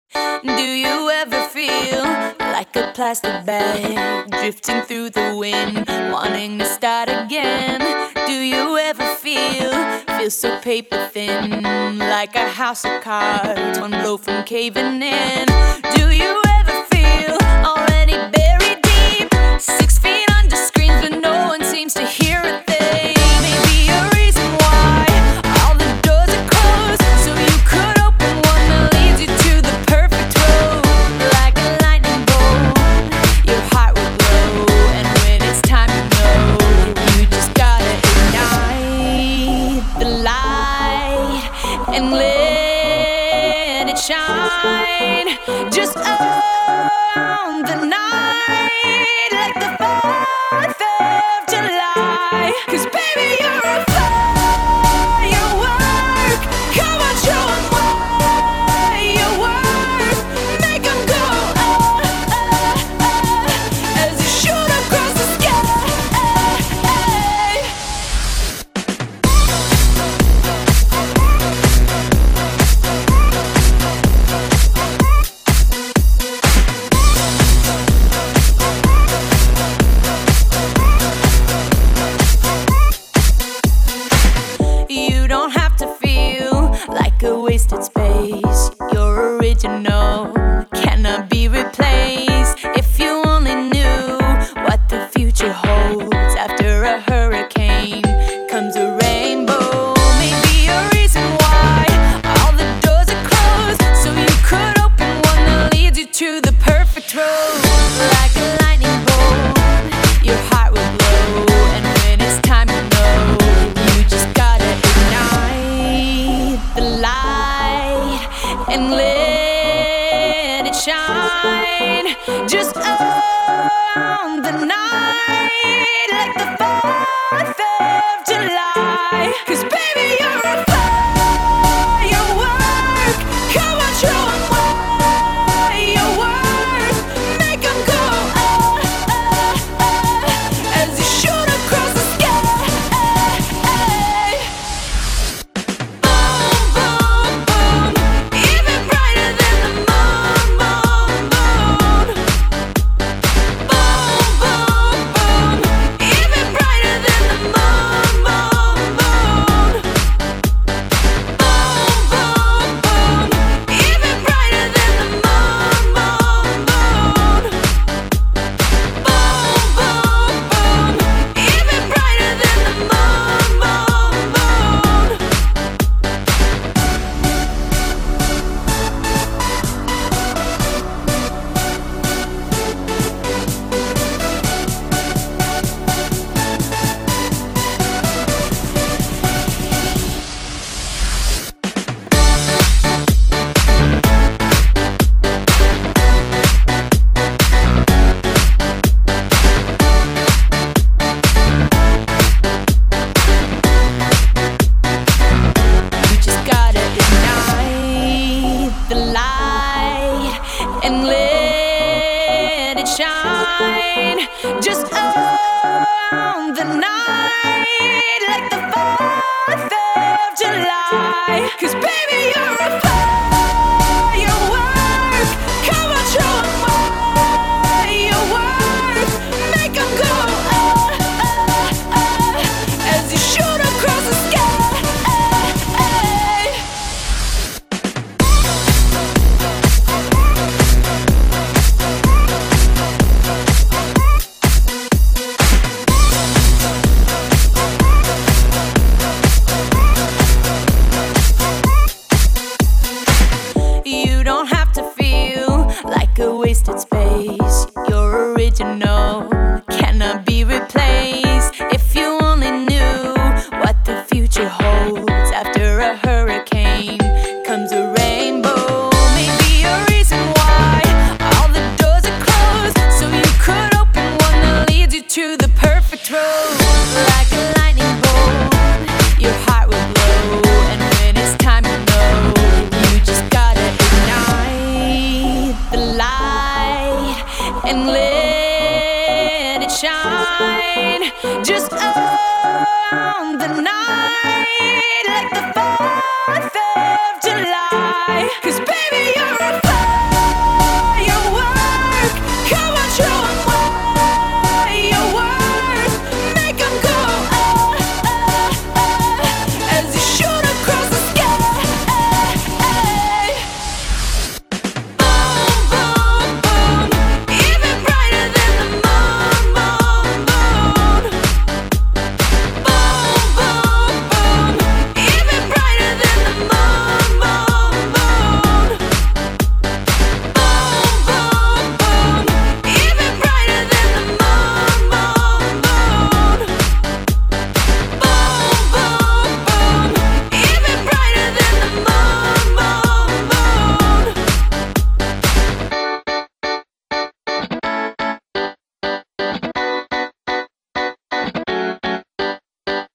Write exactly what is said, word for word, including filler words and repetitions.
Do you ever feel like a plastic bag drifting through the wind, wanting to start again? Do you ever feel, feel so paper thin, like a house of cards, one blow from caving in? Do you ever feel already buried deep, six feet under screens but no one seems to hear a thing? Maybe a reason why all the doors are closed, so you could open one that leads you to the perfect road. Like a lightning bolt, your heart will glow, and when it's time to know, you just gotta ignite the light and let it shine. Just own the night like the fourth of July. 'Cause baby, you're a firework. Come on, show 'em what you're worth. Make 'em go oh, oh, oh, as you shoot across the sky. You don't have to feel like a wasted space. You're original, cannot be replaced. If you only knew what the future holds, after a hurricane comes a rainbow. Maybe a reason why all the doors are closed, so you could open one that leads you to the perfect road. Like a lightning bolt, your heart will glow, and when it's time to know, you just gotta ignite the light and let it shine. Just own the night like the fourth of July. 'Cause baby, you're a firework. Come on, show 'em what you're worth. Make 'em go oh, oh, oh, as you shoot across the sky. Boom, boom, boom, even brighter than the moon, moon, moon. Boom, boom, boom, even brighter than the moon, moon, moon. Boom, boom, boom, even brighter than the moon, moon, moon. Boom, boom, boom, even brighter than the moon, moon, moon. You just gotta ignite the light and let it shine. Just own the night like the fourth of July. 'Cause baby, you're a firework. Come on, show 'em what you're worth. Make 'em go oh, oh, oh, as you shoot across the sky. You don't have to feel like a wasted space.